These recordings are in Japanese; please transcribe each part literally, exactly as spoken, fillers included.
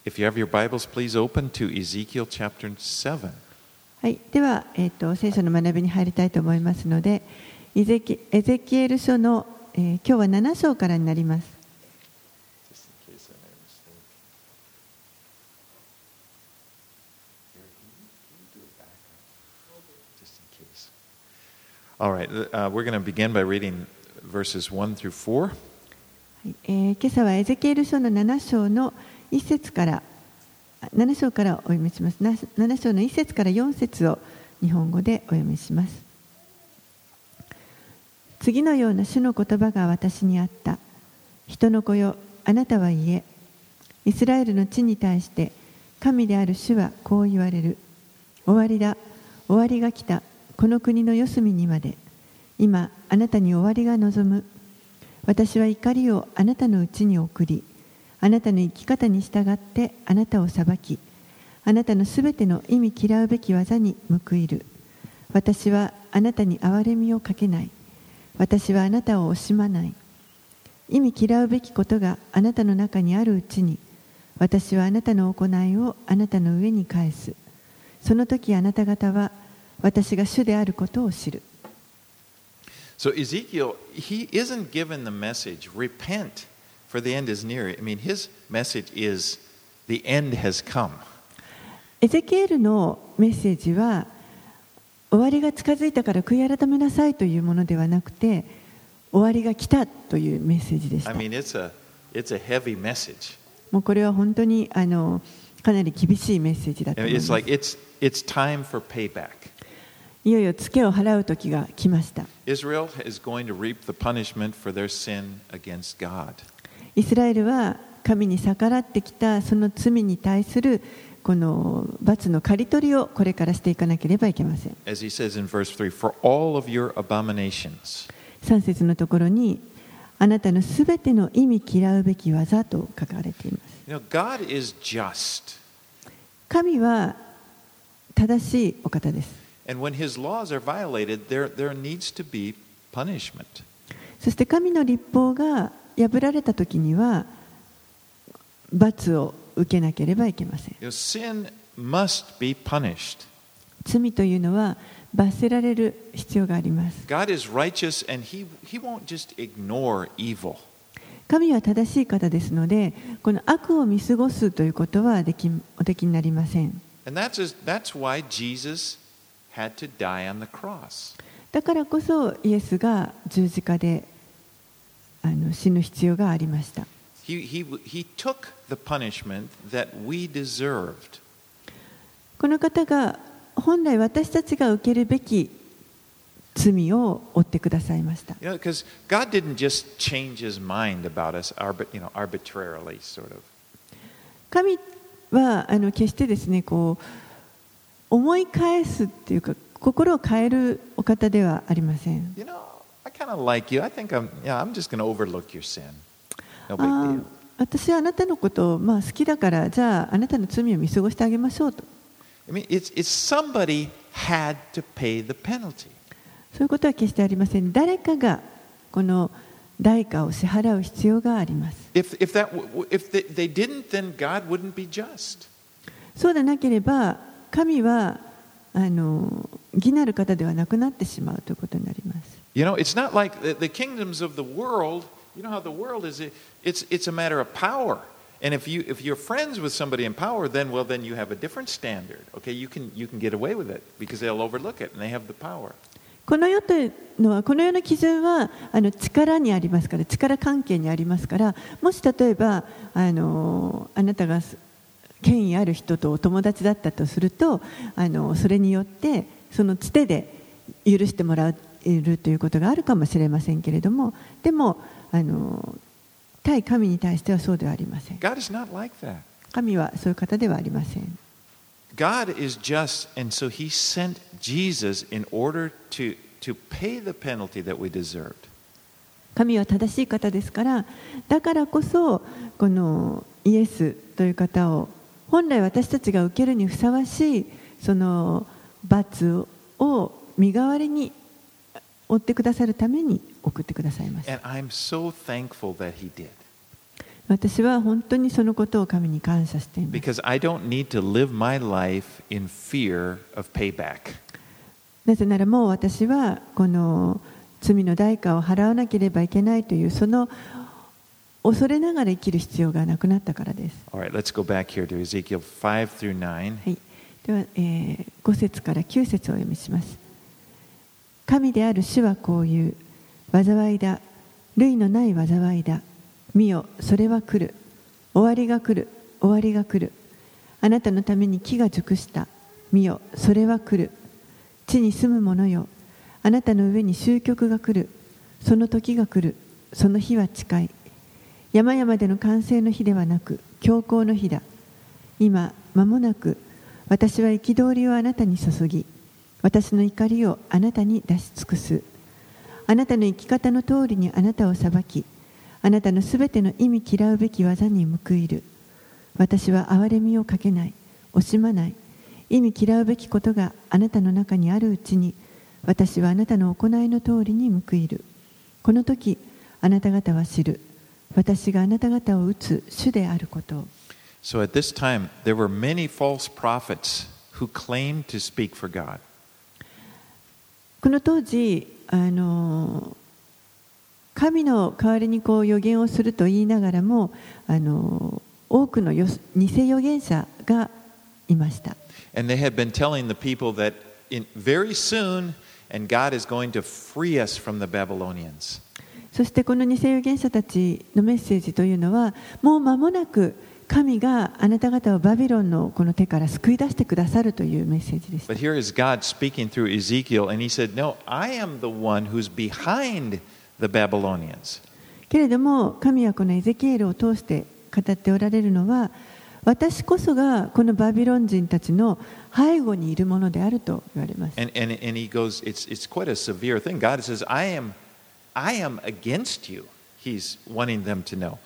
If you have your Bibles, please open to Ezekiel chapter seven. はい、では、えーと、聖書の学びに入りたいと思いますので、エゼキ、エゼキエル書の、えー、今日はなな章からになります。 All right, uh, we're going to begin by reading verses one through four. えー、今朝はエゼキエル書のなな章のいっ節からなな章からお読みします。なな章のいっ節からよん節を日本語でお読みします。次のような主の言葉が私にあった。人の子よ、あなたは言え。イスラエルの地に対して神である主はこう言われる。終わりだ、終わりが来た。この国の四隅にまで。今あなたに終わりが望む。私は怒りをあなたのうちに送り、あなたの生き方に従ってあなたを裁き、あなたのすべての意味嫌うべき技に報いる。私はあなたに憐れみをかけない。私はあなたを惜しまない。意味嫌うべきことがあなたの中にあるうちに、私はあなたの行いをあなたの上に返す。その時あなた方は私が主であることを知る。 So Ezekiel, he isn't given the message, repent, for the end is near. I mean, his message is, the end has come. エゼキエルのメッセージは、終わりが近づいたから悔い改めなさいというものではなくて、終わりが来たというメッセージでした。 I mean, it's a, it's a heavy message. もうこれは本当にあのかなり厳しいメッセージだと思います。 It's like, it's, it's time for payback. いよいよツケを払う時が来ました。 Israel is going to reap the punishment for their sin against God. イスラエルは神に逆らってきたその罪に対するこの罰の刈り取りをこれからしていかなければいけません。 As he says in verse three, for all of your abominations. さん節のところに、あなたのすべての意味嫌うべき技と書かれています。 You know, God is just. 神は正しいお方です。 And when his laws are violated, there, there needs to be punishment. そして神の律法が破られたときには罰を受けなければいけません。 You know, sin must be punished. 罪というのは罰せられる必要があります。 God is righteous and he, he won't just ignore evil. 神は正しい方ですので、この悪を見過ごすということはできおできになりません。 And that's, that's why Jesus had to die on the cross. だからこそイエスが十字架であの死ぬ必要がありました。 He, he, he took the punishment that we deserved. この方が本来私たちが受けるべき罪を負ってくださいました。 You know, because God didn't just change his mind about us, you know, arbitrarily, sort of. 神はあの決してですね、こう思い返すっていうか心を変えるお方ではありません。 You know, I kind of like you. I think I'm, yeah, I'm just going to overlook your sin. No big deal. 私はあなたのことをまあ好きだから、じゃああなたの罪を見過ごしてあげましょうと。 I mean, it's, it's somebody had to pay the penalty. そういうことは決してありません。誰かがこの代価を支払う必要があります。 If, if, that, if they, they didn't, then God wouldn't be just. そうでなければ神はあの義なる方ではなくなってしまうということになります。 You know, it's not like the, the kingdoms of the world. You know how the world is. It's it's a matter of power. And if you if you're friends with somebody in power, then well, then you have a different standard. Okay, you can you can get away with it because they'll overlook it and they have the power. この世というのは、この世の基準はあの力にありますから、力関係にありますから、もし例えばあのあなたが権威ある人とお友達だったとすると、あのそれによってそのつてで許してもらえるということがあるかもしれませんけれども、でもあの対神に対してはそうではありません。 God is not like that. 神はそういう方ではありません。 God is just, and so He sent Jesus in order to to pay the penalty that we deserved. 神は正しい方ですから、だからこそこのイエスという方を本来私たちが受けるにふさわしいその罰を身代わりに負ってくださるために送ってくださいました。 And I'm so thankful that He did. 私は本当にそのことを神に感謝しています。 Because I don't need to live my life in fear of payback. なぜならもう私はこの罪の代価を払わなければいけないというその恐れながら生きる必要がなくなったからです。 All right, let's go back here to Ezekiel five through nine. はい、では、えー、ご節からきゅう節をお読みします。神である主はこう言う。災いだ。類のない災いだ。見よ、それは来る。終わりが来る。終わりが来る。あなたのために木が熟した。見よ、それは来る。地に住む者よ。あなたの上に終局が来る。その時が来る。その日は近い。山々での完成の日ではなく、強行の日だ。今、間もなく、私は憤りをあなたに注ぎ、私の怒りをあなたに出し尽くす。あなたの生き方の通りにあなたを裁き、あなたのすべての意味嫌うべき技に報いる。私は憐れみをかけない、惜しまない。意味嫌うべきことがあなたの中にあるうちに、私はあなたの行いの通りに報いる。この時、あなた方は知る。私があなた方を打つ主であることを。 So at this time, there were many false prophets who claimed to speak for God. この当時、あの神の代わりにこう預言をすると言いながらも、あの多くのよ偽預言者がいました。 And they had been telling the people that in, very soon, and God is going to free us from the Babylonians. そしてこの偽預言者たちのメッセージというのは、もう間もなく神があなた方をバビロンのこの手から救い出してくださるというメッセージでした。 But here is God speaking through Ezekiel, and he said, No, I am the one who's behind the Babylonians. けれども神はこのエゼキエルを通して語っておられるのは、私こそがこのバビロン人たちの背後にいるものであると言われます。 And, and, and he goes, it's, it's quite a severe thing. God says, I am, I am against you. He's wanting them to know.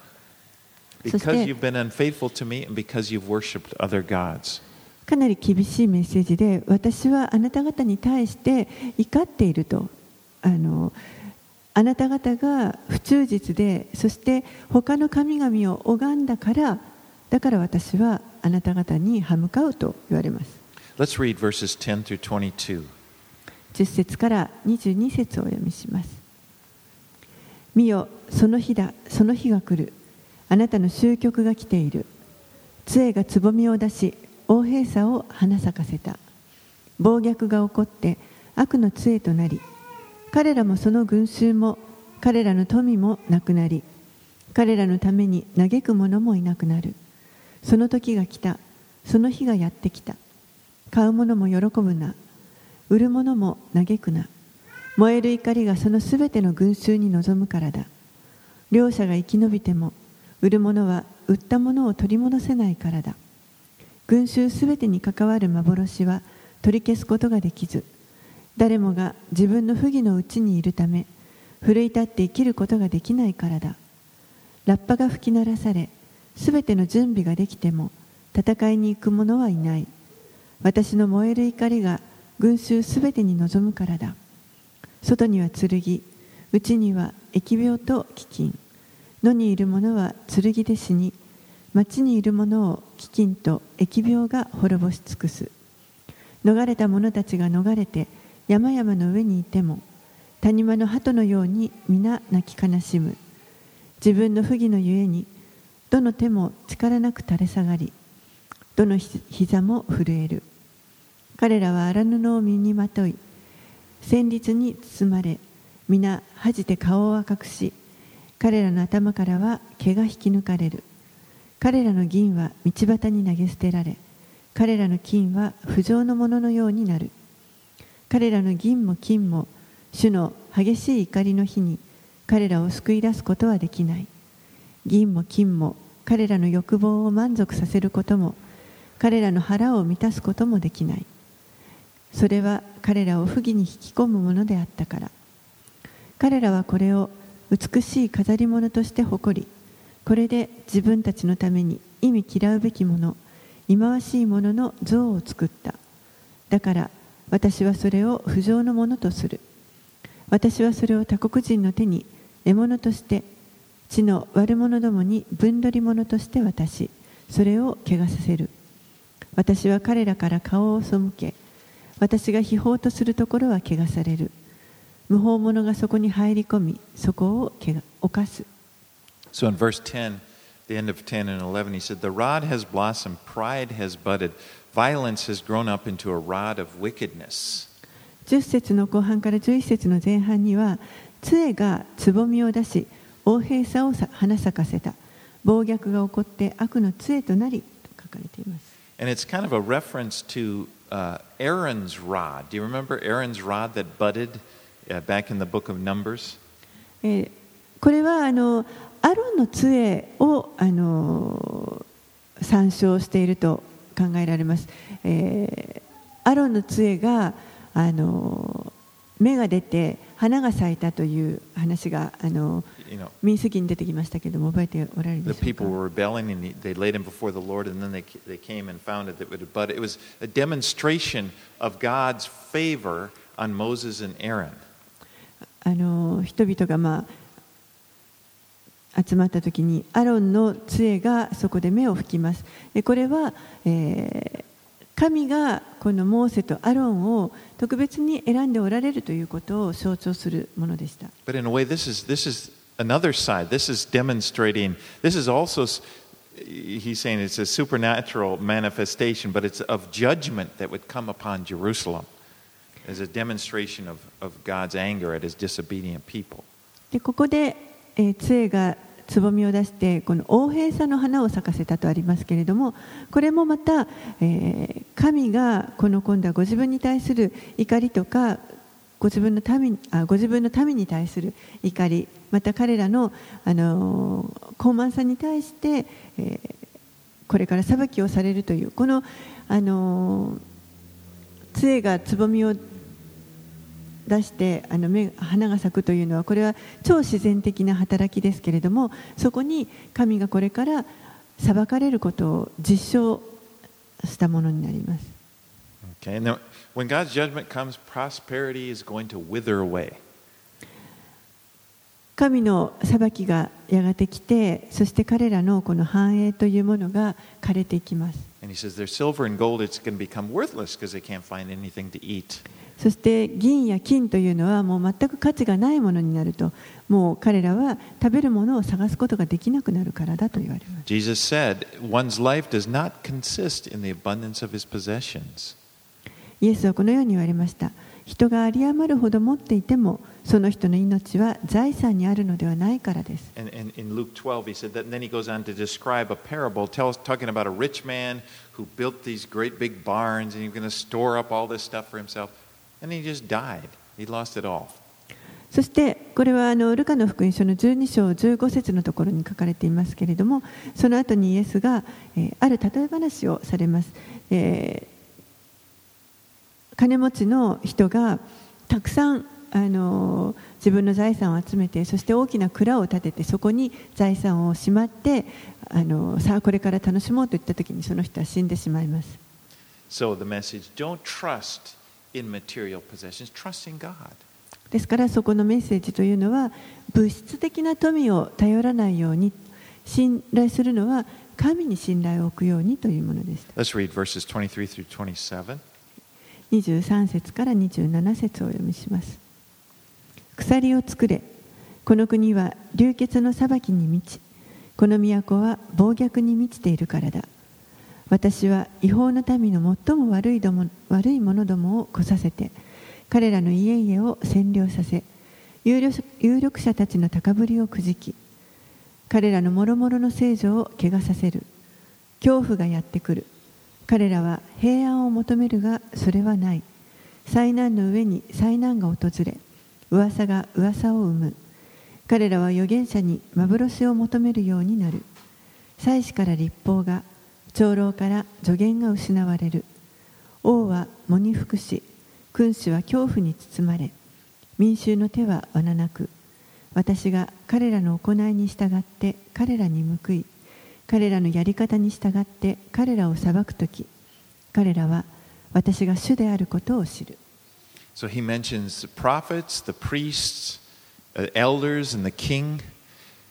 Because you've been unfaithful to me and because you've worshipped other gods. かなり厳しいメッセージで、私はあなた方に対して怒っていると。あのあなた方が不忠実で、そして他の神々を拝んだから、だから私はあなた方に歯向かうと言われます。 Let's read verses ten through twenty-two. じゅっ節からにじゅうに節をお読みします。見よ、その日だ、その日が来る。あなたの終局が来ている。杖がつぼみを出し、横柄さを花咲かせた。暴虐が起こって悪の杖となり、彼らもその群衆も彼らの富もなくなり、彼らのために嘆く者もいなくなる。その時が来た。その日がやってきた。買う者も喜ぶな。売る者も嘆くな。燃える怒りがそのすべての群衆に臨むからだ。両者が生き延びても、売る者は売ったものを取り戻せないからだ。群衆すべてに関わる幻は取り消すことができず、誰もが自分の不義のうちにいるため、奮い立って生きることができないからだ。ラッパが吹き鳴らされ、すべての準備ができても、戦いに行く者はいない。私の燃える怒りが群衆すべてに臨むからだ。外には剣、内には疫病と飢饉。野にいる者は剣で死に、町にいる者を飢饉と疫病が滅ぼし尽くす。逃れた者たちが逃れて山々の上にいても、谷間の鳩のように皆泣き悲しむ。自分の不義のゆえに、どの手も力なく垂れ下がり、どの膝も震える。彼らは荒布を身にまとい、戦慄に包まれ、皆恥じて顔を赤くし、彼らの頭からは毛が引き抜かれる。彼らの銀は道端に投げ捨てられ、彼らの金は不浄のもののようになる。彼らの銀も金も、主の激しい怒りの日に彼らを救い出すことはできない。銀も金も彼らの欲望を満足させることも、彼らの腹を満たすこともできない。それは彼らを不義に引き込むものであったから。彼らはこれを美しい飾り物として誇り、これで自分たちのために意味嫌うべきもの、忌まわしいものの像を作った。だから私はそれを不浄のものとする。私はそれを他国人の手に獲物として地の悪者どもに分取り者として渡し、それを汚させる。私は彼らから顔を背け、私が秘宝とするところは汚される。無法者がそこに入り込み、そこを犯す。 So in verse ten, the end of ten and eleven, he said, The rod has blossomed, pride has budded, violence has grown up into a rod of wickedness. じゅっ節の後半からじゅういち節の前半には、杖がつぼみを出し、横柄さを花咲かせた。暴虐が起こって悪の杖となり、と書かれています。 And it's kind of a reference to uh, Aaron's rod. Do you remember Aaron's rod that budded uh, back in the book of Numbers? えー、これはあのアロンの杖をあの参照していると考えられます。えー、アロンの杖があの芽が出て花が咲いたという話があの民数記に出てきましたけれども、覚えておられるでしょうか。 The people were rebelling and they laid him before the Lord, and then they they came and found it that it would bud. It was a demonstration of God's favor on Moses and Aaron. あの人々がまあ集まった時にアロンの杖がそこで芽を吹きます。でこれは、えー、神がこのモーセとアロンを特別に選んでおられるということを象徴するものでした。 But in a way, this is this is another side. This is demonstrating. This is also, he's saying, it's a supernatural manifestation, but it's of judgment that would come upon Jerusalem as a demonstration of of God's anger at His disobedient people. でここで、えー、杖がつぼみを出してこの横柄さの花を咲かせたとありますけれども、これもまた、えー、神がこの今度はご自分に対する怒りとかご自分の民あご自分の民に対する怒り、また彼らの、あのー、傲慢さに対して、えー、これから裁きをされるというこの、あのー、杖がつぼみを出してあの目花が咲くというのはこれは超自然的な働きですけれども、そこに神がこれから裁かれることを実証したものになります。 Okay, and then when God's judgment comes, prosperity is going to wither away. 神の裁きがやがて来て、そして彼らのこの繁栄というものが枯れていきます。 And he says their silver and gold is going to become worthless because they can't find anything to eat. そして銀や金というのはもう全く価値がないものになると、もう彼らは食べるものを探すことができなくなるからだと言われます。 Jesus said, one's life does not consist in the abundance of his possessions. イエスはこのように言われました。人が有り余るほど持っていても、その人の命は財産にあるのではないからです。 And, and in Luke twelve, he said that, and then he goes on to describe a parable, tells, talking about a rich man who built these great big barns, and he's going to store up all this stuff for himself, and he just died. He lost it all. そしてこれはあのルカの福音書のじゅうに章じゅうご節のところに書かれていますけれども、その後にイエスが、えー、ある例え話をされます。えー金持ちの人がたくさんあの自分の財産を集めて、そして大きな蔵を建てて、そこに財産をしまって、あのさあこれから楽しもうといった時にその人は死んでしまいます。 So the message, don't trust in material possessions, trust in God. ですからそこのメッセージというのは、物質的な富を頼らないように、信頼するのは神に信頼を置くようにというものでした。 Let's read verses twenty-three through twenty-seven. にじゅうさん節からにじゅうなな節をお読みします。鎖を作れ。この国は流血の裁きに満ち、この都は暴虐に満ちているからだ。私は違法の民の最も悪いども悪い者どもを来させて、彼らの家々を占領させ、有力有力者たちの高ぶりをくじき、彼らの諸々の聖女を汚させる。恐怖がやってくる。彼らは平安を求めるがそれはない。災難の上に災難が訪れ、噂が噂を生む。彼らは預言者に幻を求めるようになる。祭司から律法が、長老から助言が失われる。王は喪に服し、君主は恐怖に包まれ、民衆の手はわななく。私が彼らの行いに従って彼らに報い、彼らのやり方に従って彼らを裁くとき、彼らは私が主であることを知る。 So he mentions the prophets, the priests, the elders, and the king.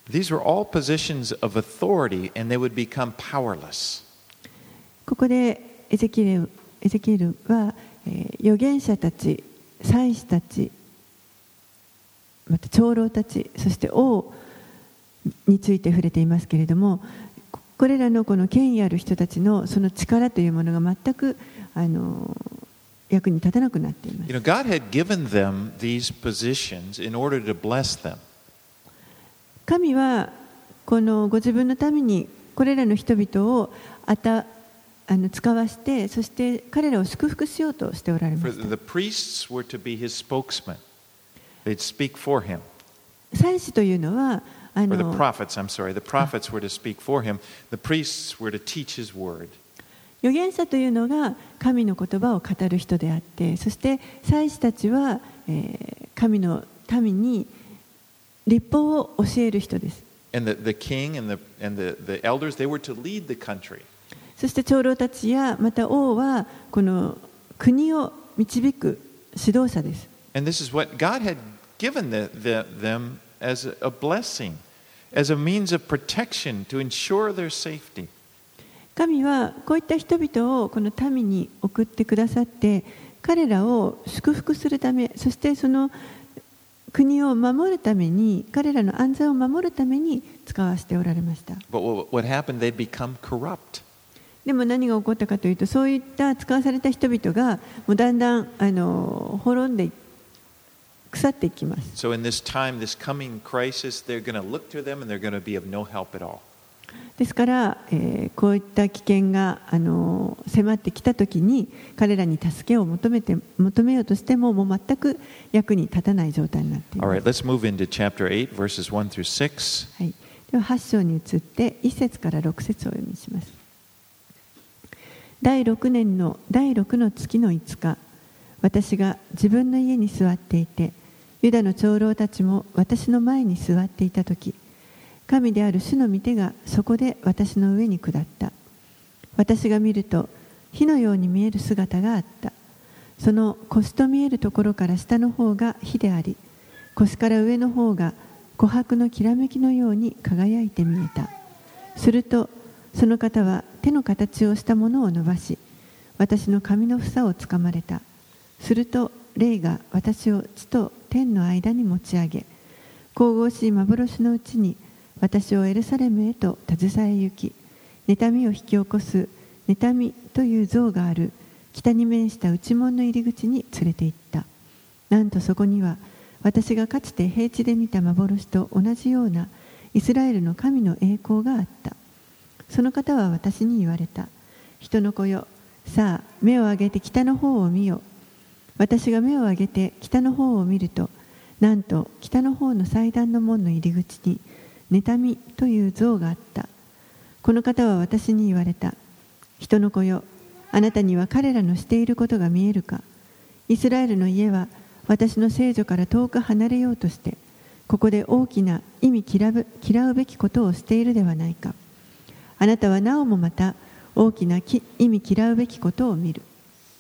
These were all positions of authority, and they would become powerless. ここでエゼキエル、エゼキエルは、えー、預言者たち、祭司たち、また長老たち、そして王について触れていますけれども、これらのこの権威ある人たちのその力というものが全くあの役に立たなくなっています。 You know, God had given them these positions in order to bless them. 神はこのご自分のためにこれらの人々をあたあの使わして、そして彼らを祝福しようとしておられま For した。 the priests were to be his spokesman. They'd speak for him. 祭司というのはあ Or the の prophets, I'm sorry. The prophets were to speak for him. The priests were to teach his word. 預言者というのが神の言葉を語る人であって、そして祭司たちは、えー、神の民に律法を教える人です。 And the, the king and, the, and the, the elders, they were to lead the country. そして長老たちやまた王はこの国を導く指導者です。 And this is what God had given the, the, them as a, a blessing, as a means of protection to ensure their safety. 神はこういった人々をこの民に送ってくださって、彼らを祝福するため、そしてその国を守るために、彼らの安全を守るために使わせておられました。 But what, what happened, they'd become corrupt. でも何が起こったかというと、そういった使わされた人々がもうだんだんあの滅んで腐っていきます。 So in this time, this coming crisis, they're going to look to them and they're going to be of no help at all. ですから、えー、こういった危険があの迫ってきたときに、彼らに助けを求めて求めようとしても、もう全く役に立たない状態になっています。 All right, let's move into chapter eight, verses one through six. はい、でははち章に移っていち節からろく節をお読みします。だいろくねんのだいろくの月のいつか、私が自分の家に座っていて、ユダの長老たちも私の前に座っていたとき、神である主の御手がそこで私の上に下った。私が見ると火のように見える姿があった。その腰と見えるところから下の方が火であり、腰から上の方が琥珀のきらめきのように輝いて見えた。するとその方は手の形をしたものを伸ばし、私の髪の房をつかまれた。すると霊が私を地と天の間に持ち上げ、神々しい幻のうちに私をエルサレムへと携え行き、妬みを引き起こす妬みという像がある北に面した内門の入り口に連れて行った。なんとそこには私がかつて平地で見た幻と同じようなイスラエルの神の栄光があった。その方は私に言われた。人の子よ、さあ目を上げて北の方を見よ。私が目を上げて北の方を見ると、なんと北の方の祭壇の門の入り口に妬みという像があった。この方は私に言われた。人の子よ、あなたには彼らのしていることが見えるか。イスラエルの家は私の聖女から遠く離れようとして、ここで大きな意味嫌う、嫌うべきことをしているではないか。あなたはなおもまた大きな意味嫌うべきことを見る。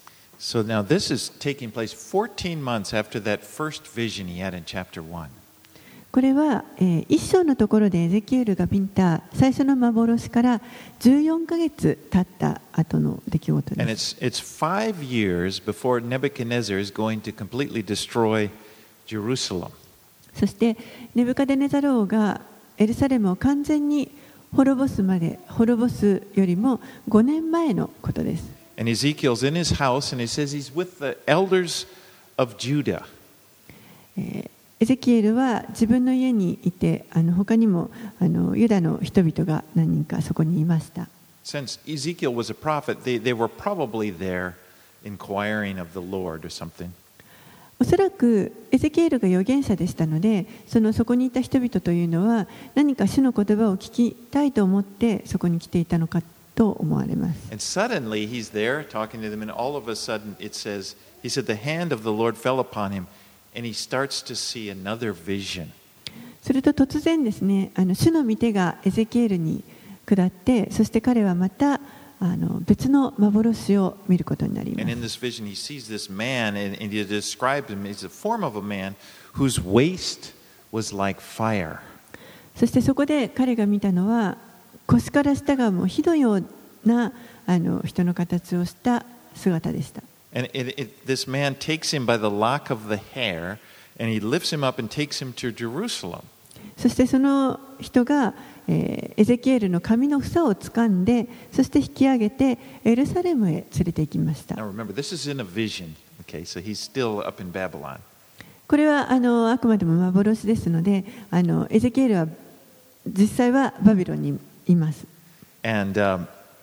So now this is taking place fourteen months after that first vision he had in chapter one. これは、えー、一章のところでエゼキエルが見た最初の幻からじゅうよんかげつ経った後の出来事 And です。 it's, it's five years before Nebuchadnezzar is going to completely destroy Jerusalem. そしてネブカデネザル王がエルサレムを完全に滅ぼすまで、滅ぼすよりもごねんまえのことです。 And Ezekiel's in his house and he says he's with the elders of Judah. エゼキエルは自分の家にいて、あの他にもあのユダの人々が何人かそこにいました。 Since Ezekiel was a prophet, they, they were probably there inquiring of the Lord or something. おそらくエゼキエルが預言者でしたので、そのそこにいた人々というのは何か主の言葉を聞きたいと思ってそこに来ていたのかと思われます。 And suddenly he's there talking to them, and all of a sudden it says, he said, the hand of the Lord fell upon him, and he starts to see another vision. すると突然ですね、あの主の御手がエゼキエルに下って、そして彼はまたあの別の幻を見ることになります。 And in this vision he sees this man, and, and he describes him as the form of a man whose waist was like fire. そしてそこで彼が見たのは、腰から下がもう火のようなあの人の形をした姿でした。 And it, it, this man takes him by the lock of the hair, and he lifts him up and takes him to Jerusalem. そしてその人が、えー、エゼキエルの髪の房を掴んで、そして引き上げてエルサレムへ連れて行きました。 Now remember, this is in a vision, okay? So he's still up in Babylon. これはあのあくまでも幻ですので、あのエゼキエルは実際はバビロンにいます。 And um,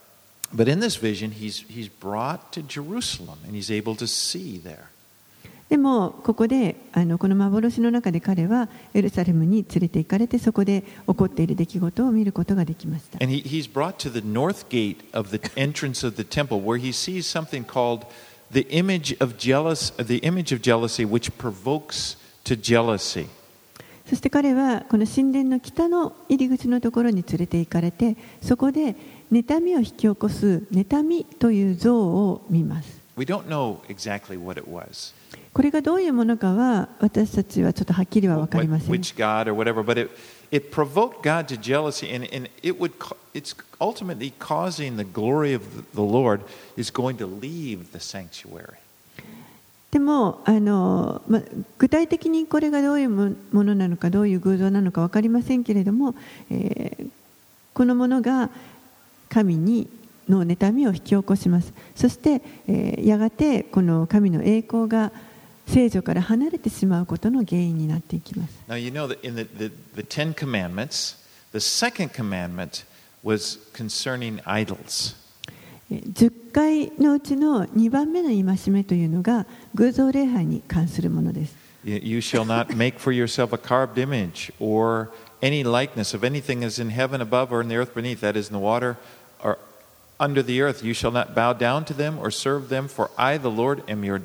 but in this vision, he's he's brought to Jerusalem, and he's able to see there. でもここであのこの幻の中で彼はエルサレムに連れて行かれて、そこで起こっている出来事を見ることができました。 And he, he's brought to the north gate of the entrance of the temple, where he sees something called the image of jealous, the image of jealousy, which provokes to jealousy. そして彼はこの神殿の北の入り口のところに連れて行かれて、そこで妬みを引き起こす妬みという像を見ます。 We don't know exactly what it was. これがどういうものかは私たちはちょっとはっきりは分かりません。 Which god or whatever, but it it provoked God to jealousy, and and it would it's ultimately causing the glory of the Lord is going to leave the sanctuary. でもあの、ま、具体的にこれがどういうものなのか、どういう偶像なのか分かりませんけれども、えー、このものが神にの妬みを引き起こします。そして、えー、やがてこの神の栄光が聖女から離れてしまうことの原因になっていきます。 Now you know that in the, the, the Ten Commandments, the second commandment was concerning idols. じゅっかいのうちのにばんめの戒めというのが偶像礼拝に関するものです。 You shall not make for yourself a carved image or any likeness of anything as in heaven above or in the earth beneath, that is in the water or under the earth. You shall not bow down to them or serve them, for I, the Lord, am your,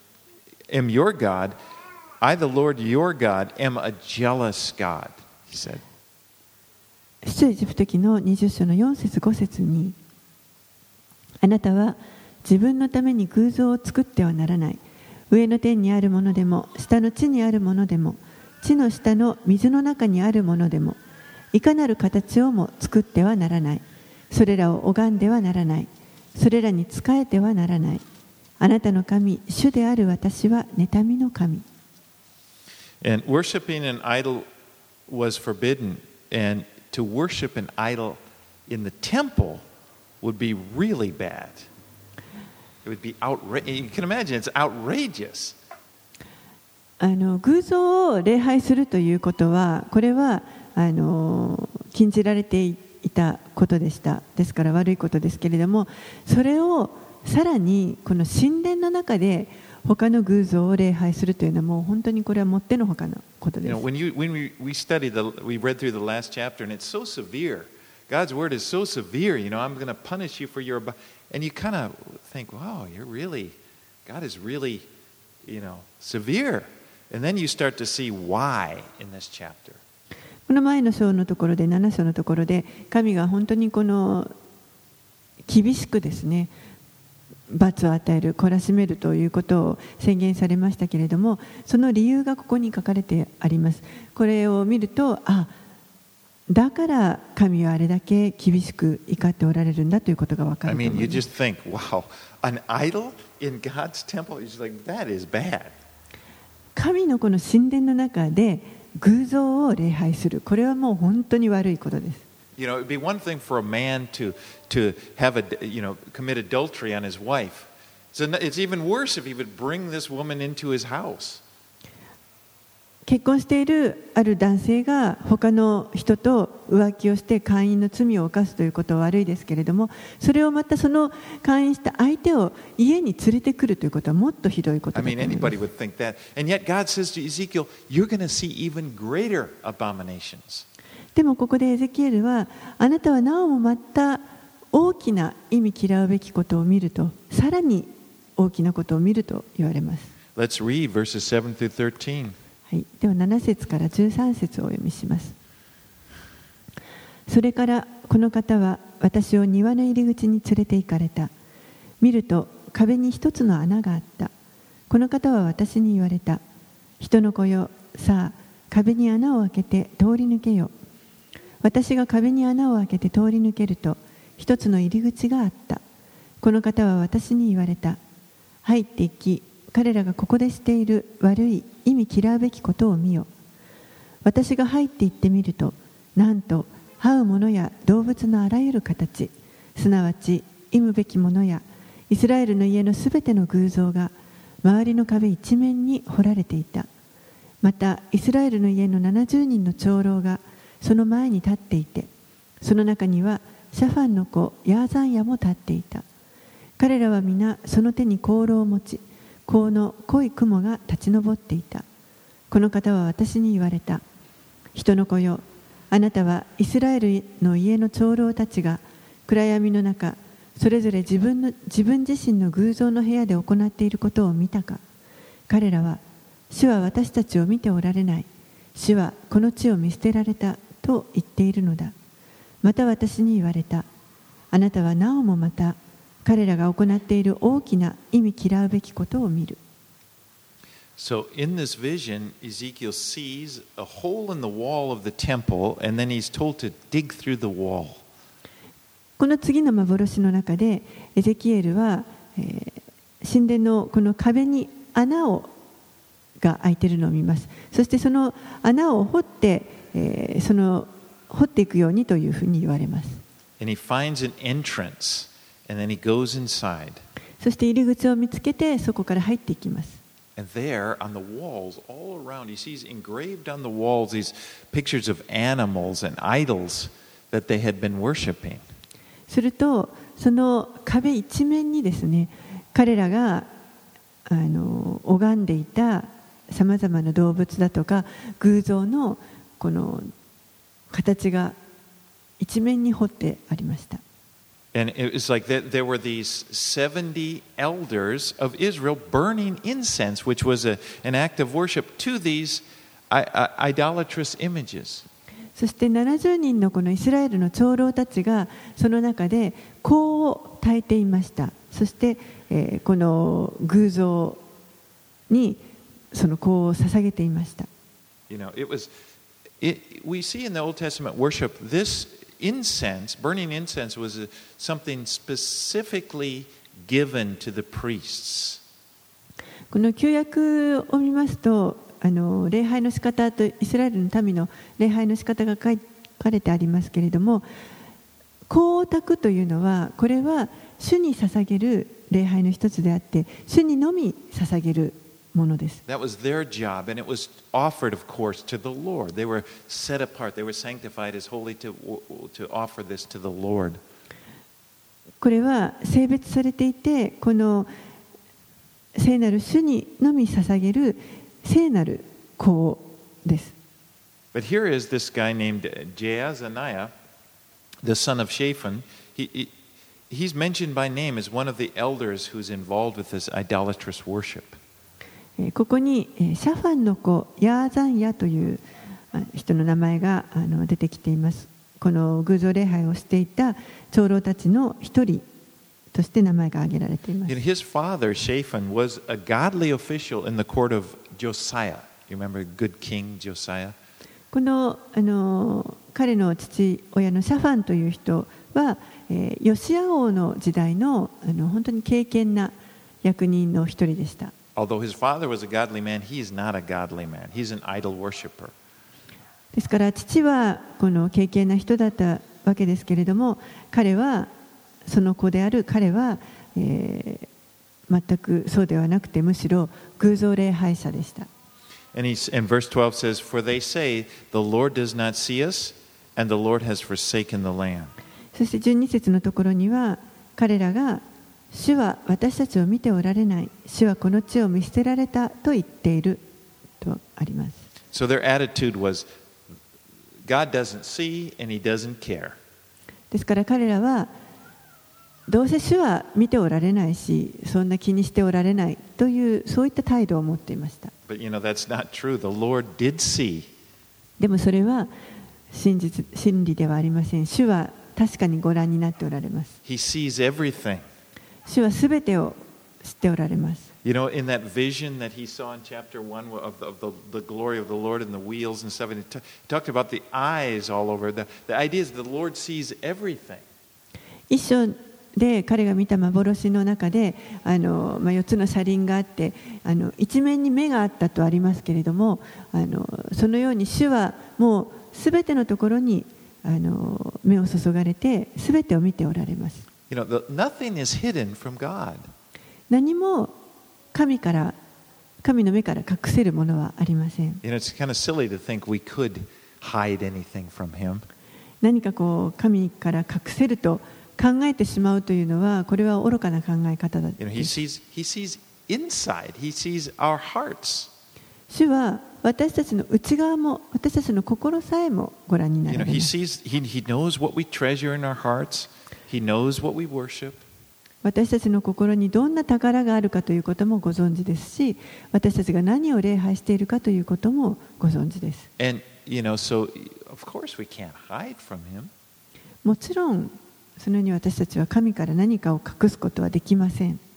am your God. I, the Lord, your God, am a jealous God, he said. 出エジプト記のにじゅっ章のよん節ご節に、あなたは自分のために偶像を作ってはならない。上の天にあるものでも、下の地にあるものでも、地の下の水の中にあるものでも、いかなる形をも作ってはならない。それらを拝んではならない。それらに仕えてはならない。あなたの神、主である私は妬みの神。 And worshiping an idol was forbidden, and to worship an idol in the temple would be really bad. It would be outrageous. You can imagine it's outrageous. あの偶像を礼拝するということは、これはあの禁じられていたことでした。ですから悪いことですけれども、それをさらにこの神殿の中で他の偶像を礼拝するというのはもう本当にこれはもってのほかのことです。 You know, when you when we we studied the we read through the last chapter, and it's so severe. God's word is so severe. You know, I'm going to punish you for your, and you kind of think, wow, you're really, God is really, you know, severe. And then you start to see why in this chapter. この前の章のところでなな章のところで神が本当にこの厳しくですね罰を与える、懲らしめるということを宣言されましたけれども、その理由がここに書かれてあります。これを見ると、あ、だから神はあれだけ厳しく怒っておられるんだということが分かると思います。 I mean, you just think, wow, an idol in God's temple is like that is bad. 神のこの神殿の中で偶像を礼拝する、これはもう本当に悪いことです。 You know, it'd be one thing for a man to to have a you know commit adultery on his wife. So it's even worse if he would bring this woman into his house. 結婚しているある男性が他の人と浮気をして姦淫の罪を犯すということは悪いですけれども、それをまたその姦淫した相手を家に連れてくるということはもっとひどいことだと思います。 I mean, anybody would think that. And yet God says to Ezekiel, you're going to see even greater abominations. でもここでエゼキエルは、あなたはなおもまた大きな意味嫌うべきことを見ると、さらに大きなことを見ると言われます。 Let's read verses seven through thirteen. はい、ではなな節からじゅうさん節をお読みします。それからこの方は私を庭の入り口に連れて行かれた。見ると壁に一つの穴があった。この方は私に言われた。人の子よ、さあ壁に穴を開けて通り抜けよ。 私が壁に穴を開けて通り抜けると、一つの入り口があった。この方は私に言われた。入っていき、彼らがここでしている悪い、意味嫌うべきことを見よ。私が入っていってみると、なんと這うものや動物のあらゆる形、すなわち忌むべきものやイスラエルの家のすべての偶像が周りの壁一面に彫られていた。またイスラエルの家のななじゅうにんの長老がその前に立っていて、その中にはシャファンの子ヤーザンヤも立っていた。彼らは皆その手に香炉を持ち、香の濃い雲が立ち上っていた。この方は私に言われた。人の子よ、あなたはイスラエルの家の長老たちが暗闇の中、それぞれ自分の自分自身の偶像の部屋で行っていることを見たか。彼らは、主は私たちを見ておられない。主はこの地を見捨てられたと言っているのだ。また私に言われた。あなたはなおもまた彼らが行っている大きな意味嫌うべきことを見る。 So in this vision, Ezekiel sees a hole in the wall of the temple, and then he's told to dig through the wall. この次の幻の中で、エゼキエルは、えー、神殿のこの壁に穴をが開いているのを見ます。そしてその穴を掘って、えー、その掘っていくようにというふうに言われます。 And he finds an entrance, and then he goes inside. そして入り口を見つけて、そこから入っていきます。 And there, on the walls, all around, he sees engraved on the walls these pictures of animals and idols that they had been worshiping. すると、その壁一面にですね、彼らがあの拝んでいたさまざまな動物だとか偶像のこの形が一面に彫ってありました。 And it was like that there were these seventy elders of Israel burning incense, which was a, an act of worship to these idolatrous images. そしてななじゅうにんのこのイスラエルの長老たちがその中で香を焚いていました。そして、えー、この偶像にその香を捧げていました。 You know, it was, it, we see in the Old Testament worship this incense, burning incense was a, something specifically given to the priests. この旧約を見ますと、あの礼拝の仕方とイスラエルの民の礼拝の仕方が書かれてありますけれども、香を焚くというのは、これは主に捧げる礼拝の一つであって、主にのみ捧げるものです。 That was their job, and it was offered, of course, to the Lord. They were set apart. They were sanctified as holy to, to offer this to the Lord. これは聖別されていて、この聖なる主にのみ捧げる聖なる香です。 But here is this guy named Jaazaniah, the son of Shaphan. He, he, he's mentioned by name as one of the elders who's involved with this idolatrous worship. ここにシャファンの子ヤーザンヤという人の名前が出てきています。この偶像礼拝をしていた長老たちの一人として名前が挙げられています。 His father Shaphan was a godly official in the court of Josiah. You remember good king Josiah? このあの彼の父親のシャファンという人は、えー、ヨシア王の時代のあの本当に敬虔な役人の一人でした。 Although his father was a godly man, he is not a godly man. He's an idol worshiper. ですから父はこの敬虔な人だったわけですけれども、彼はその子である彼は、えー、全くそうではなくて、むしろ偶像礼拝者でした。 And, he's, and verse twelve says, For they say, The Lord does not see us, and the Lord has forsaken the land. そしてじゅうに節のところには、彼らが主は私たちを見ておられない、主はこの地を見捨てられたと言っているとあります。 So their attitude was, God doesn't see and he doesn't care. ですから彼らは、どうせ主は見ておられないし、そんな気にしておられないという、そういった態度を持っていました。 But you know, that's not true. The Lord did see. でもそれは真実、真理ではありません。主は確かにご覧になっておられます。 He sees everything. 主はすべてを知っておられます。 You know, in that vision that he saw in chapter one of the, of the, the glory of the Lord and the wheels and stuff, and it, t- it talked about the eyes all over. The, the idea is the Lord sees everything. 一章で彼が見た幻の中であの、まあ、よっつの車輪があってあの一面に目があったとありますけれども、あのそのように主はもうすべてのところにあの目を注がれてすべてを見ておられます。 You know, the, nothing is hidden from God. 何も神から神の目から隠せるものはありません。 You know, it's kind of silly to think we could hide anything from Him. 何かこう神から隠せると考えてしまうというのはこれは愚かな考え方だ。 You know, He sees He sees inside. He sees our hearts. 主は私たちの内側も私たちの心さえもご覧にな You ら know, れま He す。 sees. He He knows what we treasure in our hearts. He knows what we worship. 私たちの心にどんな宝があるかということもご存知ですし、私たちが何を礼拝しているかということもご存知です。 And you know, so of course we can't hide from Him. もちろんそのように私たちは神から何かを隠すことはできません。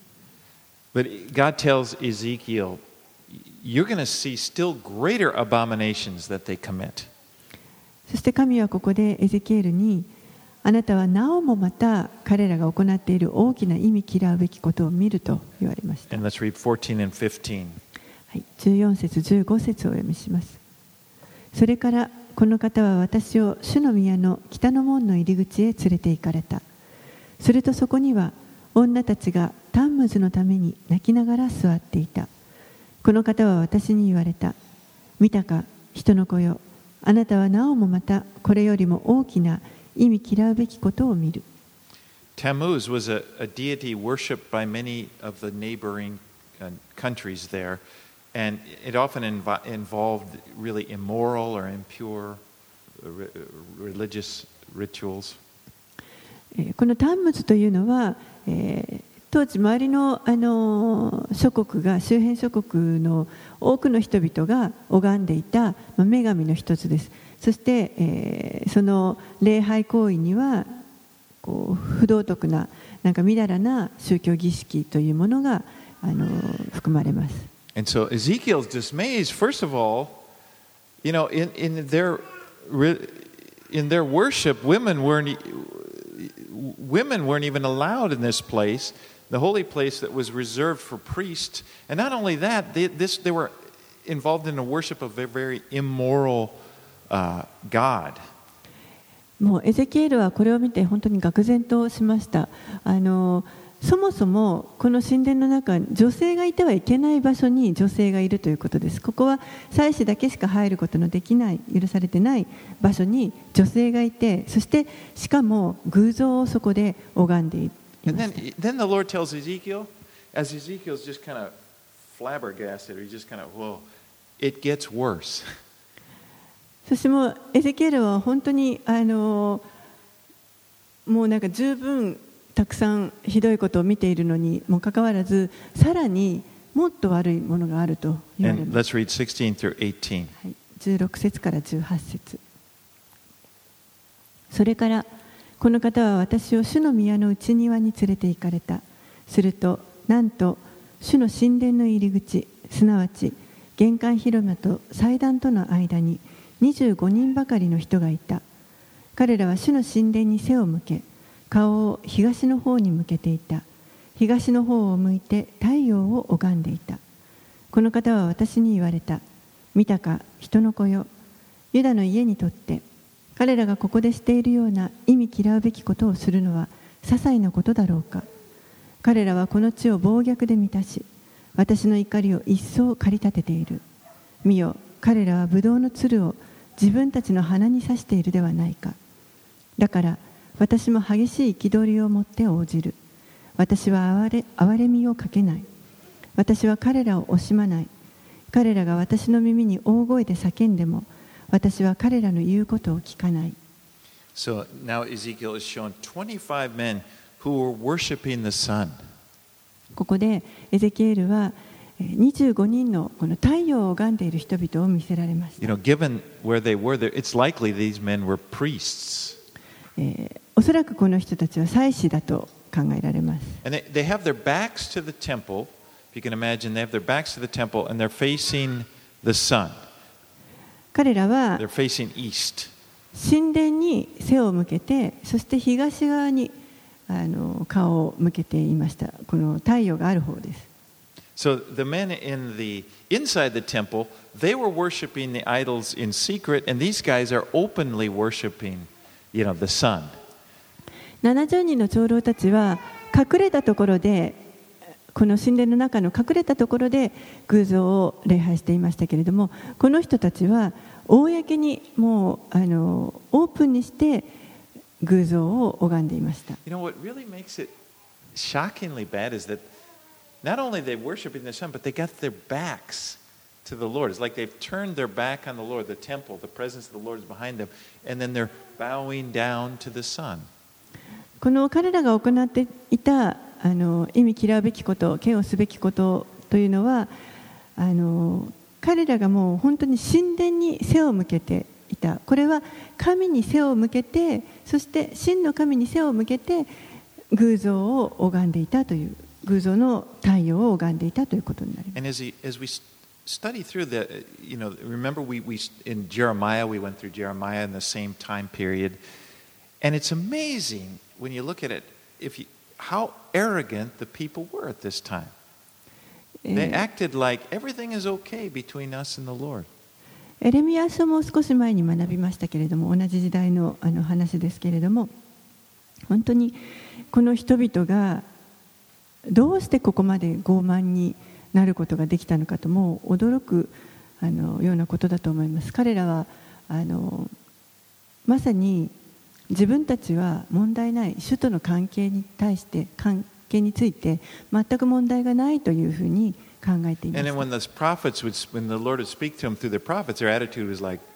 But God tells Ezekiel, you're going to see still greater abominations that they commit. そして神はここでエゼキエルに、あなたはなおもまた彼らが行っている大きな意味嫌うべきことを見ると言われました。 And let's read fourteen and fifteen. はい、じゅうよん節じゅうご節をお読みします。それからこの方は私を主の宮の北の門の入り口へ連れて行かれた。するとそこには女たちがタンムズのために泣きながら座っていた。この方は私に言われた。見たか、人の子よ。あなたはなおもまたこれよりも大きな意味嫌うべきことを見る。 Tammuz was a, a deity worshipped by many of the neighboring uh, countries there, and it often inv- involved really immoral or impure re- religious rituals. このタンムズというのは、えー、当時周りの、あの諸国が周辺諸国の多くの人々が拝んでいた、まあ、女神の一つです。そして、えー、その礼拝行為にはこう不道徳ななんかみだらな宗教儀式というものがあの含まれます。 And so Ezekiel's dismay is, first of all, you know, in, in their in their worship, women weren't women weren't even allowed in this place, the holy place that was reserved for priests. And not only that, they, this they were involved in the worship of a very immoral Uh, God. もうエゼキエルはこれを見て本当に愕然としました。あのそもそもこの神殿の中、女性がいてはいけない場所に女性がいるということです。ここは祭司だけしか入ることのできない、許されてない場所に女性がいて、そしてしかも偶像をそこで拝んでいました。 And then, then the Lord tells Ezekiel, as Ezekiel's just kind of flabbergasted, or he just kind of, whoa, it gets worse. そしてもうエゼキエルは本当にあのもうなんか十分たくさんひどいことを見ているのにもかかわらず、さらにもっと悪いものがあると言われます。 はい、 じゅうろく節からじゅうはち節。それからこの方は私を主の宮の内庭に連れて行かれた。するとなんと主の神殿の入り口、すなわち玄関広間と祭壇との間ににじゅうごにんばかりの人がいた。彼らは主の神殿に背を向け、顔を東の方に向けていた。東の方を向いて太陽を拝んでいた。この方は私に言われた。見たか、人の子よ。ユダの家にとって彼らがここでしているような意味嫌うべきことをするのは些細なことだろうか。彼らはこの地を暴虐で満たし、私の怒りを一層駆り立てている。見よ、彼らはブドウのつるを自分たちの鼻に刺しているではないか。だから私も激しい憤りを持って応じる。私は哀れ、哀れみをかけない。私は彼らを惜しまない。彼らが私の耳に大声で叫んでも、私は彼らの言うことを聞かない。 So now Ezekiel is shown twenty-five men who were worshiping the sun. ここでエゼキエルはにじゅうごにんのこの太陽を拝んでいる人々を見せられました。 You know, given where they were, it's likely these men were priests. えー、おそらくこの人たちは祭司だと考考えられます。 And they, they have their backs to the temple. If you can imagine, they have their backs to the temple and they're facing the sun. 彼らは They're facing east. 神殿に背を向けて、そして東側にあの顔を向けていました。この太陽がある方です。 So the men in the inside the temple, they were worshiping the idols in secret, and these guys are openly worshiping, you know, the sun. ななじゅうにんの長老たちは隠れたところで、この神殿の中の隠れたところで偶像を礼拝していましたけれども、この人たちは公にもうあのオープンにして偶像を拝んでいました。 You know what really makes it shockingly bad is that not only they worshiping the sun, but they got their backs to the Lord. It's like they've turned their back on the Lord, the temple, the presence of the Lord is behind them, and then they're bowing down to the sun. この彼らが行っていたあの忌み嫌うべきこと、敬をすべきことというのは、あの彼らがもう本当に神殿に背を向けていた。これは神に背を向けて、そして真の神に背を向けて偶像を拝んでいたという、偶像の太陽を拝んでいたということになります。 And as, he, as we study through the, you know, remember we, we in Jeremiah, we went through Jeremiah in the same time period, and it's amazing when you look at it, if you, how arrogant the people were at this time. They acted like everything is okay between us and the Lord. エレミヤ書も少し前に学びましたけれども、同じ時代のあの話ですけれども、本当にこの人々がどうしてここまで傲慢になることができたのかと、もう驚くあのようなことだと思います。彼らはあのまさに自分たちは問題ない、主との関係に対して関係について全く問題がないというふうに考えていました。 And then when the prophets would, when the Lord would speak to them through the prophets, their attitude was like,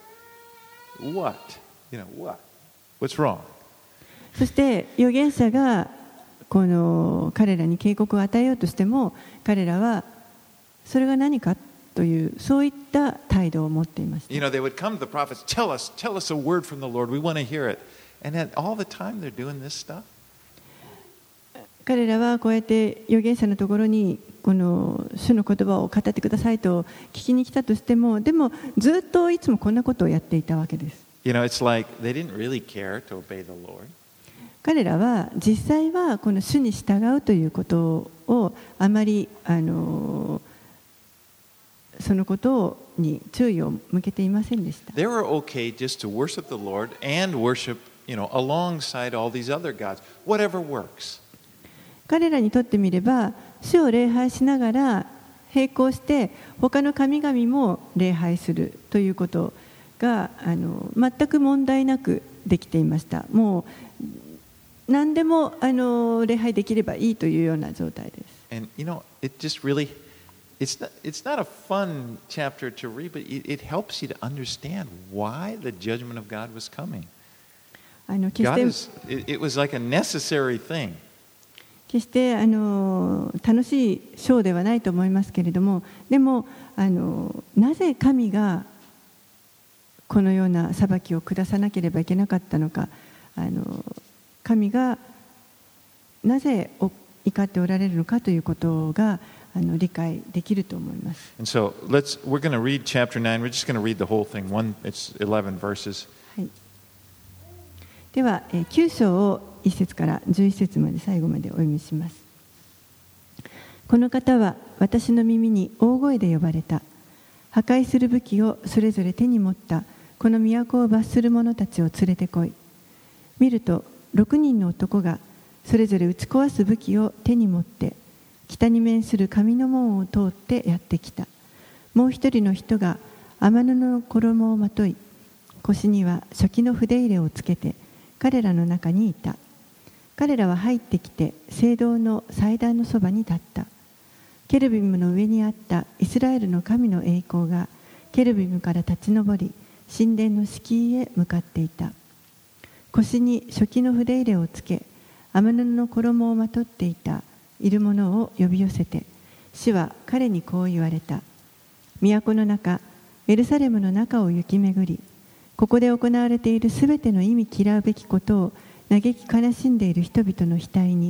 "What? You know what? What's wrong?" そして預言者がこの彼らに警告を与えようとしても、彼らはそれが何かというそういった態度を持っていました。 You know, they would come to the prophets, tell us, tell us a word from the Lord. We want to hear it. And then all the time they're doing this stuff. 彼らはこうやって預言者のところにこの主の言葉を語ってくださいと聞きに来たとしても、でもずっといつもこんなことをやっていたわけです。 You know, it's like they didn't really care to obey the Lord. 彼らは実際はこの主に従うということをあまりあのそのことに注意を向けていませんでした。 They were okay just to worship the Lord and worship, you know, alongside all these other gods, whatever works. 彼らにとってみれば、主を礼拝しながら並行して他の神々も礼拝するということがあの全く問題なくできていました。もう何でもあの礼拝できればいいというような状態です。 And you know, it just really, it's not, it's not a fun chapter to read, but it, it helps you to understand why the judgment of God was coming. あの決し God て is, it, it was like a necessary thing. 決してあの楽しいショーではないと思いますけれども、でもあのなぜ神がこのような裁きを下さなければいけなかったのか、あの神がなぜ怒っておられるのかということがあの理解できると思います。 And so let's, we're going to read chapter nine. We're just going to read the whole thing. One, it's eleven verses. はい、ではきゅう章をいっ節からじゅういっ節まで最後までお読みします。この方は私の耳に大声で呼ばれた。破壊する武器をそれぞれ手に持ったこの都を罰する者たちを連れてこい。見るとろくにんの男がそれぞれ打ち壊す武器を手に持って北に面する上の門を通ってやってきた。もう一人の人が天布の衣をまとい、腰には書記の筆入れをつけて彼らの中にいた。彼らは入ってきて聖堂の祭壇のそばに立った。ケルビムの上にあったイスラエルの神の栄光がケルビムから立ち上り、神殿の敷居へ向かっていた。腰に書記の筆入れをつけ、天布の衣をまとっていたいる者を呼び寄せて、主は彼にこう言われた。都の中、エルサレムの中を行き巡り、ここで行われているすべての忌み嫌うべきことを嘆き悲しんでいる人々の額に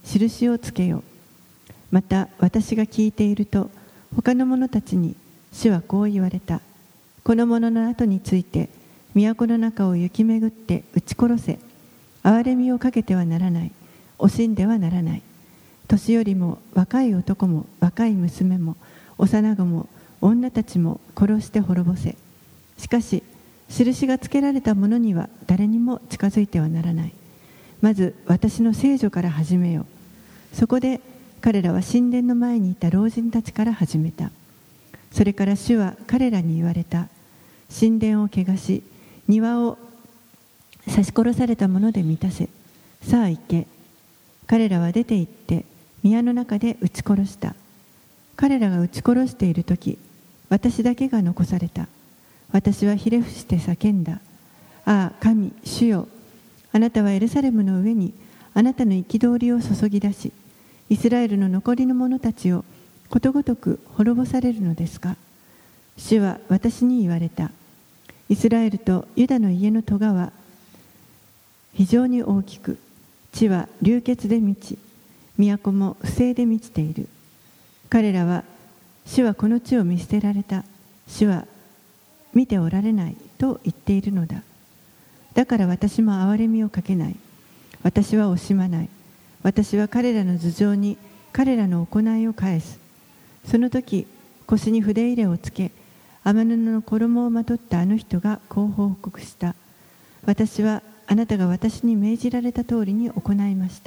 印をつけよう。また私が聞いていると、他の者たちに主はこう言われた。この者の後について、都の中を行き巡って撃ち殺せ。憐れみをかけてはならない。惜しんではならない。年寄りも若い男も若い娘も幼子も女たちも殺して滅ぼせ。しかし、印がつけられた者には誰にも近づいてはならない。まず私の聖女から始めよう。そこで彼らは神殿の前にいた老人たちから始めた。それから主は彼らに言われた。神殿を汚し、庭を刺し殺されたもので満たせ。さあ行け。彼らは出て行って宮の中で撃ち殺した。彼らが撃ち殺しているとき、私だけが残された。私はひれ伏して叫んだ。ああ、神、主よ。あなたはエルサレムの上にあなたの憤りを注ぎ出し、イスラエルの残りの者たちをことごとく滅ぼされるのですか。主は私に言われた。イスラエルとユダの家の戸は非常に大きく、地は流血で満ち、都も不正で満ちている。彼らは、主はこの地を見捨てられた。主は見ておられないと言っているのだ。だから私も憐れみをかけない。私は惜しまない。私は彼らの頭上に彼らの行いを返す。その時、腰に筆入れをつけ、天布の衣をまとったあの人がこう報告した。私はあなたが私に命じられた通りに行いました。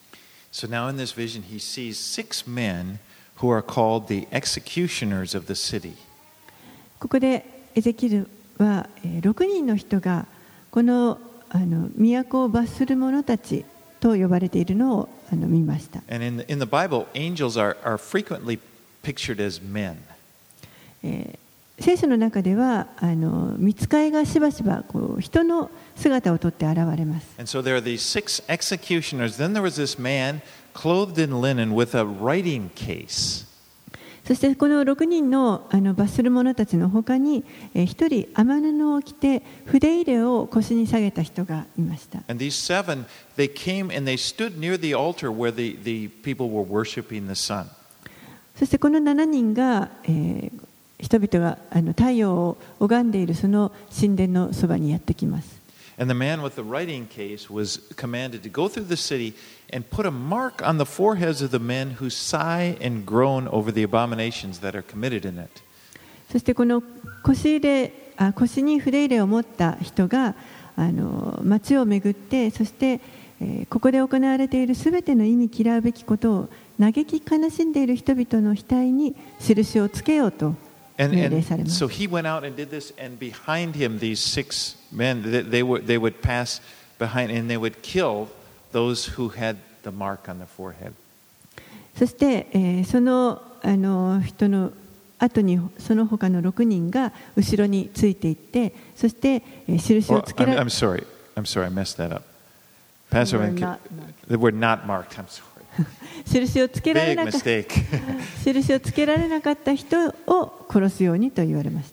So now in this vision, he sees six men who are called the executioners of the city. ここでエゼキルはろくにんの人がこのあの都を罰する者たちと呼ばれているのをあの見ました。 And in the, in the Bible, angels are, are frequently pictured as men. えー、聖書の中ではあの御使いがしばしばこう人の姿をとって現れます。 And so there are these six executioners. Then there was this man clothed in linen with a writing case. そしてこのろくにんのあの罰する者たちの他にひとり天布を着て筆入れを腰に下げた人がいました。 And these seven, they came and they stood near the altar where the, the people were worshiping the sun. そしてこのななにんが、えー、人々があの太陽を拝んでいるその神殿のそばにやってきます。 And the man with the writing case was commanded to go through the city and put a mark on the foreheads of the men who sigh and groan over the abominations that are committed in it. そしてこの腰入れあ腰に筆入れを持った人があの街を巡って、そして、えー、ここで行われているすべての意味嫌うべきことを嘆き悲しんでいる人々の額に印をつけようと。 And, and so he went out and did this, and behind him, these six men, they, they, would, they would pass behind and they would kill those who had the mark on their forehead. そして、えー、その、あの人の後にその他のろくにんが後ろについていって、そして、えー、印をつけられ、 well, I'm, I'm sorry, I'm sorry, I messed that up. Pastor, they were not marked. I'm sorry. 印をつけられなかった印をつけられなかった人を殺すようにと言われました。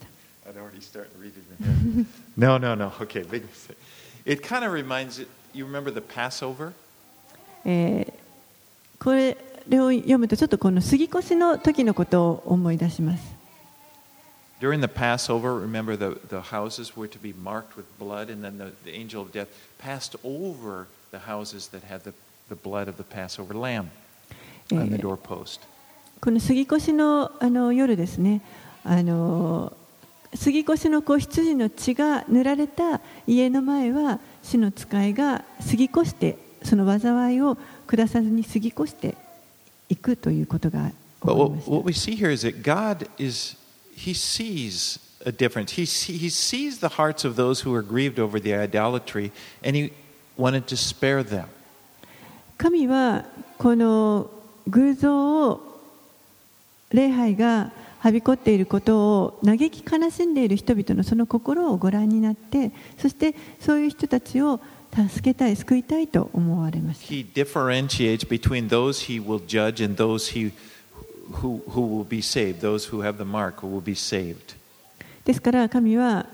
No, no, no. Okay, big mistake. It kind of reminds you. You remember the Passover? えー、これを読むとちょっとこの杉越の時のことを思い出します。 During the Passover, remember the the houses were to be marked with blood, and then the, the angel of death passed over the houses that had the the blood of the Passover lamb on the doorpost. この杉越のあの夜ですね。あの杉越の子羊の血が塗られた家の前は主の使いが過ぎ越してその災いを下さずに過ぎ越していくということが起こりました。 But what we see here is that God is He sees a difference. He He sees the hearts of those who are grieved over the idolatry, and He wanted to spare them. 神はこの偶像を礼拝がはびこっていることを嘆き悲しんでいる人々のその心をご覧になって、そしてそういう人たちを助けたい、救いたいと思われました。 He differentiates between those he will judge and those he who who will be saved, those who have the mark who will be saved. ですから神は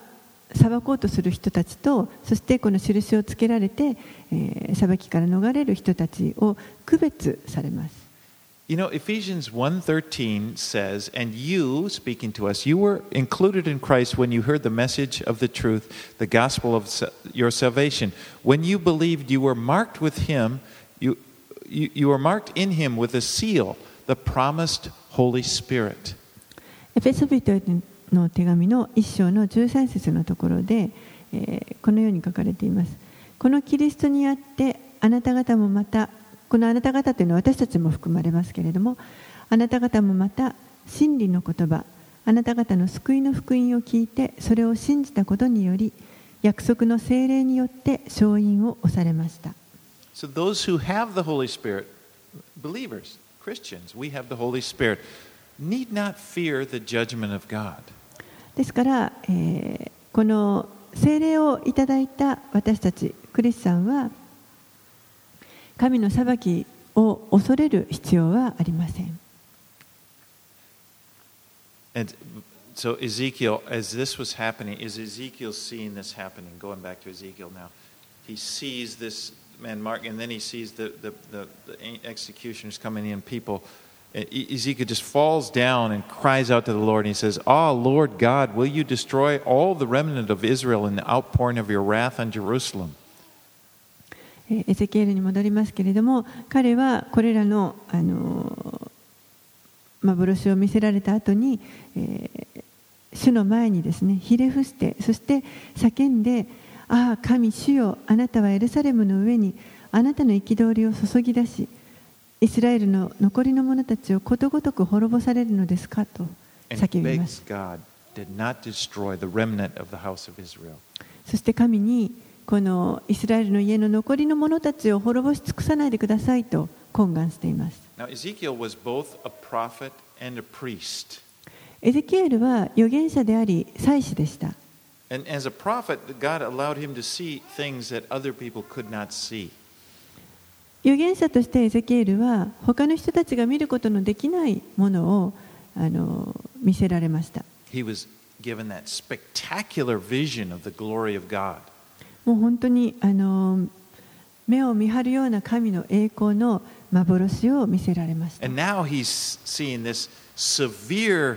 裁こうとする人たちと、そしてこの印をつけられて、えー、裁きから逃れる人たちを区別されます。 You know, Ephesians one thirteen says, and you, speaking to us, you were included in Christ when you heard the message of the truth, the gospel of your salvation. When you believed, you were marked with him, you, you, you were marked in him with a seal, the promised Holy Spirit. エペソビトへの手紙の一章のじゅうさん節のところで、えー、このように書かれています。このキリストにあってあなた方もまた、このあなた方というのは私たちも含まれますけれども、あなた方もまた真理の言葉、あなた方の救いの福音を聞いてそれを信じたことにより、約束の聖霊によって承認を押されました。 So those who have the Holy Spirit, believers, Christians, we have the Holy Spirit, need not fear the judgment of God. ですから、えー、この聖霊をいただいた私たちクリスチャンは神の裁きを恐れる必要はありません。 And so Ezekiel, as this was happening, is Ezekiel seeing this happening? Going back to Ezekiel now, he sees this man Mark, and then he sees the the the, the executioners coming in. People, Ezekiel just falls down and cries out to the Lord, and he says, "Ah, Lord God, will you destroy all the remnant of Israel in the outpouring of your wrath on Jerusalem?" エゼキエルに戻りますけれども、彼はこれらの、あの幻を見せられた後に、えー、主の前にですね、ひれ伏して、そして叫んで、ああ神主よ、あなたはエルサレムの上にあなたの憤りを注ぎ出し、イスラエルの残りの者たちをことごとく滅ぼされるのですかと叫びます。そして神に、このイスラエルの家の残りの者たちを滅ぼし尽くさないでくださいと懇願しています。 Now, Ezekiel was both a prophet and a priest. エゼキエルは預言者であり祭司でした。 And as a prophet, God allowed him to see things that other people could not see. 預言者としてエゼキエルは他の人たちが見ることのできないものをあの見せられました。 He was given that spectacular vision of the glory of God. もう本当にあの目を見張るような神の栄光の幻を見せられました。 And now he's seeing this severe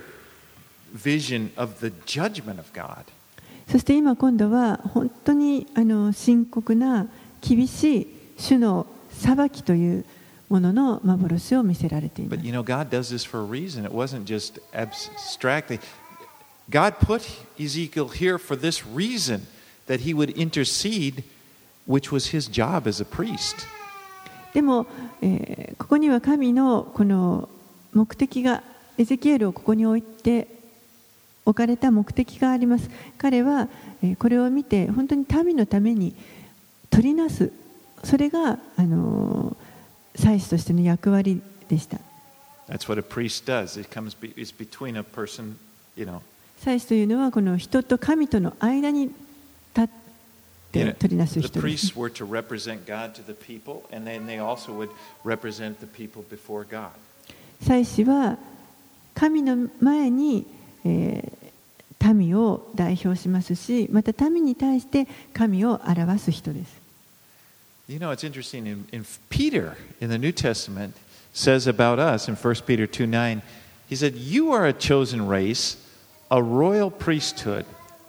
vision of the judgment of God. そして今今度は本当にあの深刻な厳しい主の裁きというものの幻を見せられています。 But you know, God does this for a reason. It wasn't just abstractly. God put Ezekiel here for this reason, that he would intercede, which was his job as a priest. でも、えー、ここには神のこの目的が、エゼキエルをここに置いて置かれた目的があります。彼は、えー、これを見て本当に民のために取りなす、それが、あのー、祭司としての役割でした。 That's what a priest does. It comes be, it's between a person, you know. 祭司というのはこの人と神との間に立って取りなす人です。 The priests were to represent God to the people, and then they also would represent the people before God. 祭司は神の前に、えー、民を代表しますし、また民に対して神を表す人です。 You know, it's interesting. In, in Peter in the New Testament says about us in First Peter two nine, he said, "You are a chosen race, a royal priesthood,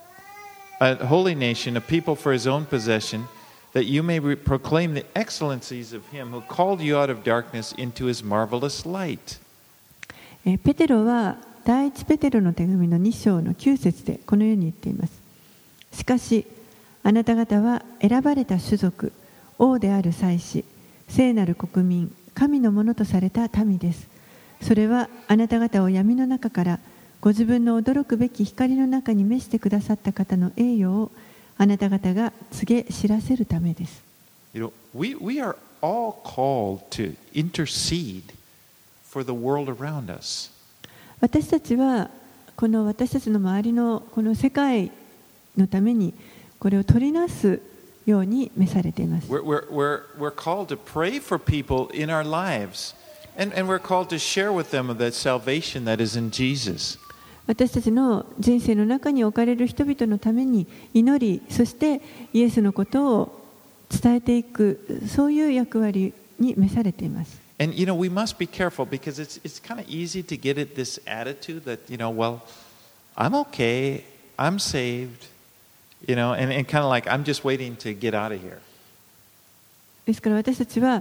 a holy nation, a people for his own possession, that you may re- proclaim the excellencies of him who called you out of darkness into his marvelous light." ペテロは第一ペテロの手紙のに章のきゅう節でこのように言っています。しかしあなた方は選ばれた種族、王である祭司、聖なる国民、神のものとされた民です。それはあなた方を闇の中からご自分の驚くべき光の中に召してくださった方の栄誉をあなた方が告げ知らせるためです。 You know, we, we are all called to intercede for the world around us. 私たちはこの私たちの周りのこの世界のためにこれを取りなすように召されています。 We're, we're, we're, we're called to pray for people in our lives, and, and we're called to share with them that salvation that is in Jesus. 私たちの人生の中に置かれる人々のために祈り、そしてイエスのことを伝えていく、そういう役割に召されています。 And you know, we must be careful because it's it's kind of easy to get at this attitude that, you know, well, I'm okay, I'm saved, you know, and, and kind of like I'm just waiting to get out of here. ですから私たちは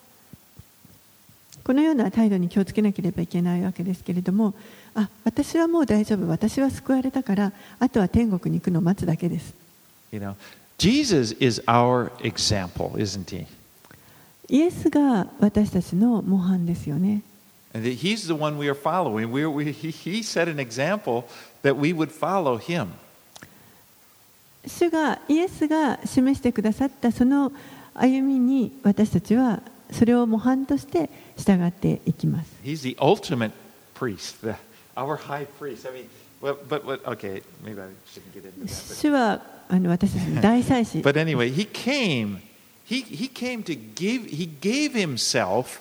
このような態度に気をつけなければいけないわけですけれども、あ、私はもう大丈夫、私は救われたから、あとは天国に行くのを待つだけです。 You know, Jesus is our example, isn't he? イエスが私たちの模範ですよね。 And he's the one we are following. We, we, he, he set an example that we would follow him. 主がイエスが示してくださったその歩みに私たちはそれを模範として従っていきます。 He's the ultimate priest, the, our high priest. I mean, well, but, but okay, maybe I shouldn't get into that. But, 主はあの私たちの大祭司。 but anyway, he came. He he came to give. He gave himself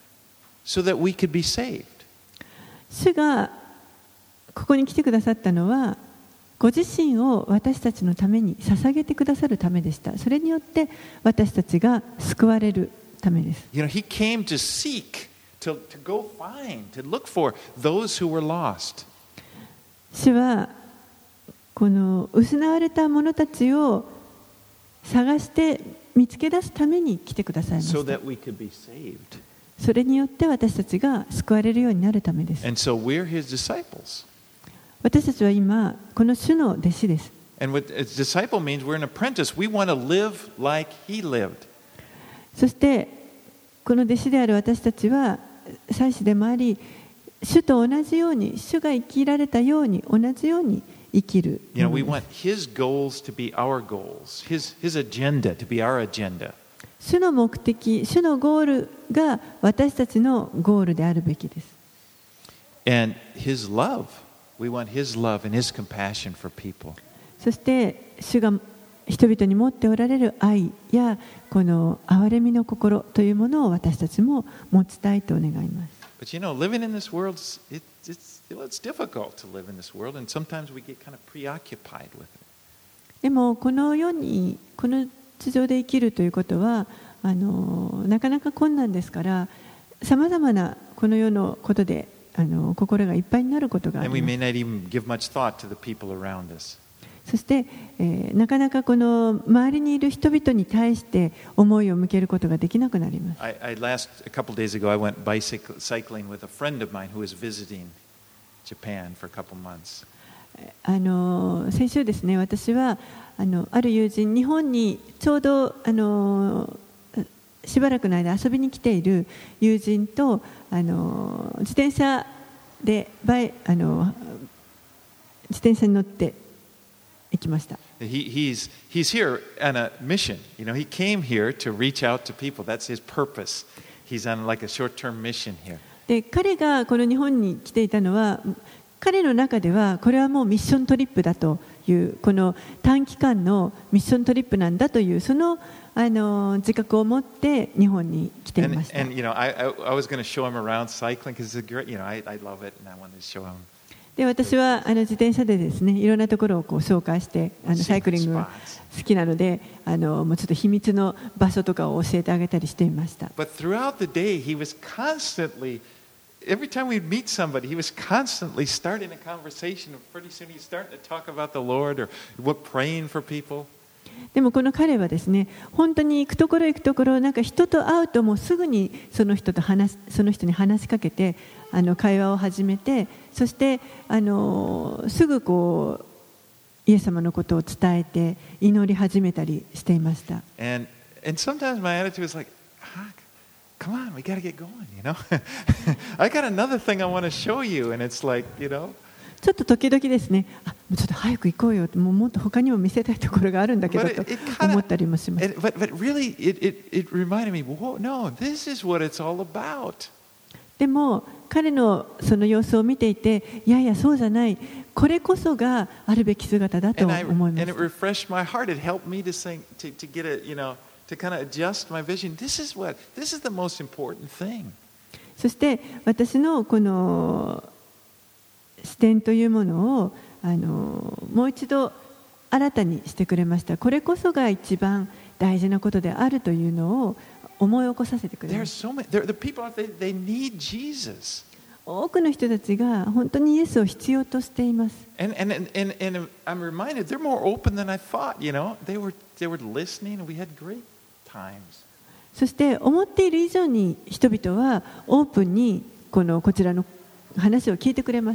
so that we could be saved. 主がここに来てくださったのは、ご自身を私たちのために捧げてくださるためでした。それによって私たちが救われるためです。 You know, he came to seek, to, to go find, to look for those who were lost. 主はこの失われた者たちを探して見つけ出すために来てくださいました。 So that we could be saved. それによって私たちが救われるようになるためです。 And so we're his disciples. 私たちは今この主の弟子です。 And what a disciple means, we're an apprentice. We want to live like he lived. そしてこの弟子である私たちは祭司でもあり、主と同じように、主が生きられたように同じように生きる。 You know, we want his goals to be our goals, his his agenda to be our agenda. 主の目的、主のゴールが私たちのゴールであるべきです。 And his love, we want his love and his compassion for people. そして主が人々に持っておられる愛やこの憐れみの心というものを私たちも持ちたいと願います。 But you know, living in this world, it, it's, well, it's difficult to live in this world, and sometimes we get kind of preoccupied with it. でもこの世にこの地上で生きるということはあのなかなか困難ですから、さまざまなこの世のことであの心がいっぱいになることがあります。 And we may not even give much thought to the people around us. そして、えー、なかなかこの周りにいる人々に対して思いを向けることができなくなります。 I, I last a couple days ago, I went bicycling with a friend of mine who was visiting Japan for a couple months. あの先週ですね、私はあのある友人、日本にちょうどあのしばらくの間遊びに来ている友人とあの自転車でバイあの自転車に乗って行きました。 He, he's, he's here on a mission. You know, he came here to reach out to people. That's his purpose. He's on like a short-term mission here. で、彼がこの日本に来ていたのは、彼の中ではこれはもうミッショントリップだという、この短期間のミッショントリップなんだというそのあの自覚を持って日本に来ていました。 And, and you know, I, I, I was going to show him around cycling because it's a great, you know, I, I love it and I wanted to show him. で、私はあの自転車でですね、いろんなところをこう紹介して、あのサイクリングが好きなので、あのもうちょっと秘密の場所とかを教えてあげたりしていました。 But throughout the day, he was constantly, every time we'd meet somebody, he was constantly starting a conversation. And pretty soon he's starting to talk about the Lord or what praying for people. でもこの彼はですね、本当に行くところ行くところ、なんか人と会うともうすぐにその人と話その人に話しかけて、あの会話を始めて、そしてあのすぐこうイエス様のことを伝えて祈り始めたりしていました。 And and sometimes my attitude was like, ah, come on, we got to get going, you know. I got another thing I want to show you, and it's like, you know. ちょっと時々ですね、あ、もうちょっと早く行こうよって、もうもっと他にも見せたいところがあるんだけどと思ったりもします。 But but really, it it it reminded me, whoa, no, this is what it's all about. でも彼のその様子を見ていて、いやいやそうじゃない、これこそがあるべき姿だと思います。 And it refreshed my heart. It helped me to think, to to get a, you know, to kind of adjust my vision. This is what, this is the most important thing. そして私のこの視点というものをあのもう一度新たにしてくれました。これこそが一番大事なことであるというのを思い起こさせてくれました。多くの人たちが本当にイエスを必要としています。 And, and, and, and I'm reminded they're more open than I thought, you know. They were, they were listening and we had great times. そして思っている以上に人々はオープンにこのこちらの話を聞いてくれます。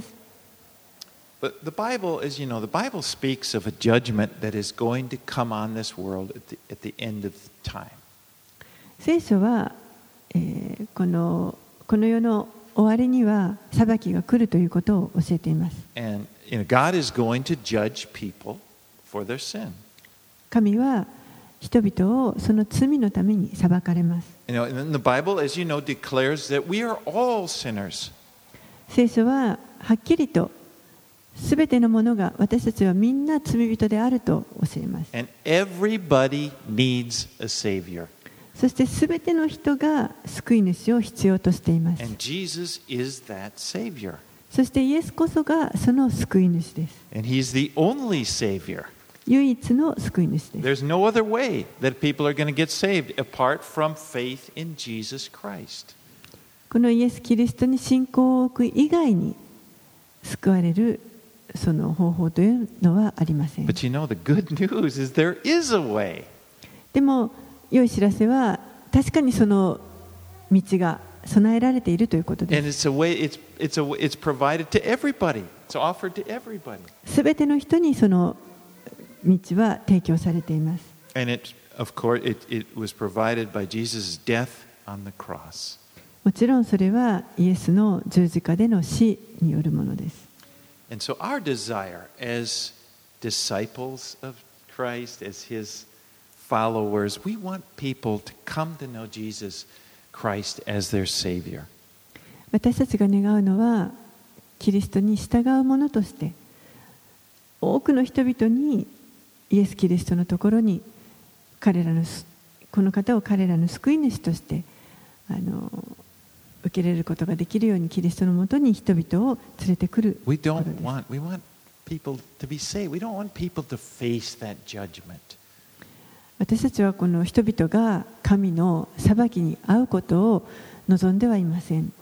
But the Bible, as you know, the Bible speaks of a judgment that is going to come on this world at the, at the end of time. 聖書は、えー、このこの世の終わりには裁きが来るということを教えています。 And you know, God is going to judge people for their sin. 神は人々をその罪のために裁かれます。 You know, and the Bible, as you know, declares that we are all sinners. 聖書ははっきりとすべてのものが私たちはみんな罪人であると教えます。 And everybody needs a savior. そしてすべての人が救い主を必要としています。 And Jesus is that savior. そしてイエスこそがその救い主です。 And he's the only savior. 唯一の救い主です。 There's no other way that people are going to get saved apart from faith in Jesus Christ. このイエス・キリストに信仰を置く以外に救われるその方法というのはありません。 But you know, the good news is there is a way. でも良い知らせは確かにその道が備えられているということです。 And it's a way, it's, it's, a, it's provided to everybody. It's offered to everybody. すべての人にその道は提供されています。 And it, of course, it, it was provided by Jesus' death on the cross. もちろんそれはイエスの十字架での死によるものです。 And so our desire as disciples of Christ, as his followers, we want people to come to know Jesus Christ as their Savior. 私たちが願うのはキリストに従う者として多くの人々にイエス・キリストのところに彼らのこの方を彼らの救い主としてあの受け入れることができるようにキリストのもとに人々を連れてくることです。 We don't want, we want people to be saved. We don't want people to face that judgment. 私たちはこの人々が神の裁きに遭うことを望んではいません。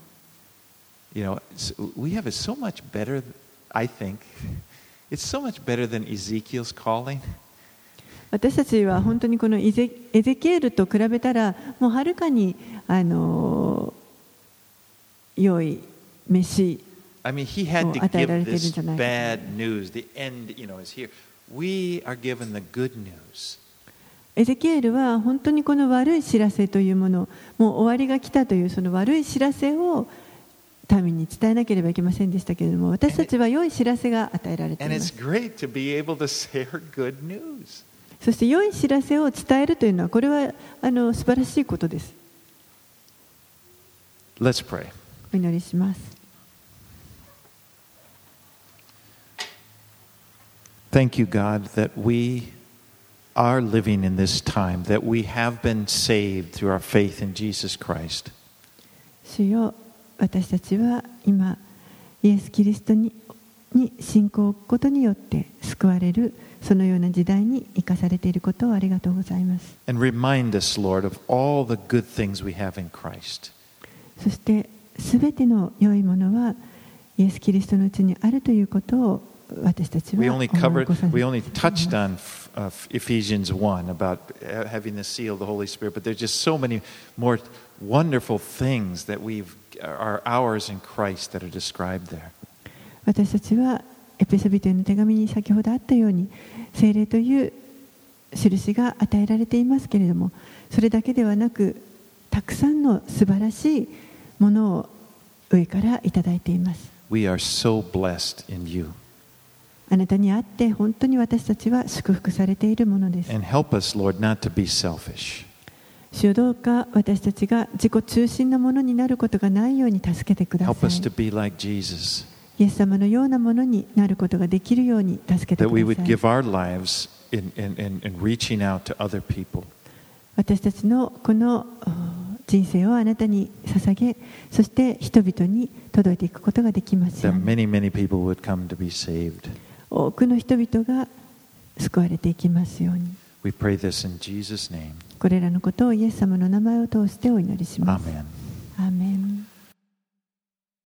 You know, we have it so much better, I think. It's so much better than Ezekiel's calling. 私たちは本当にこのエゼキエルと比べたらもうはるかにあの良い飯 I mean, he had to give this bad news. The end, you know, is here. We are given the good news. エゼキエルは本当にこの悪い知らせというもの、もう終わりが来たというその悪い知らせを民に伝えなければいけませんでしたけれども、私たちは良い知らせが与えられています。そして良い知らせを伝えるというのはこれはあの素晴らしいことです。 Let's pray. お祈りします。 Thank you, God, that we are living in this time, that we have been saved through our faith in Jesus Christ. 主よ、私たちは今イエス・キリストにに信仰を置くことによって救われるそのような時代に生かされていることをありがとうございます。 And remind us, Lord, of all the good things we have in Christ. そしてすべての良いものはイエス・キリストのうちにあるということを私たちは We 思い only 起こ covered, させてい we た only だきます。 touched on uh, Ephesians one about having the seal of the Holy Spirit, but there's just so many more wonderful things that we've are ours in Christ that are described there. 私たちはエペソビトへの手紙に先ほどあったように聖霊という印が与えられていますけれども、それだけではなくたくさんの素晴らしいものを上からいただいています。 We are so blessed in you. あなたにあって本当に私たちは祝福されているものです。 And help us, Lord, not to be selfish. 主よ、どうか私たちが自己中心なものになることがないように助けてくださ Help us い。 to be like Jesus. イエス様のようなものになることができるように助けて That く we だ would さい。 give our lives in, in, in, in reaching out to other people. 私たちのこの人生をあなたに捧げ、そして人々に届いていくことができますよう that に。 many, many people would come to be saved. 多くの人々が救われていきますように。 We pray this in Jesus' name. これらのことをイエス様の名前を通してお祈りします。 Amen.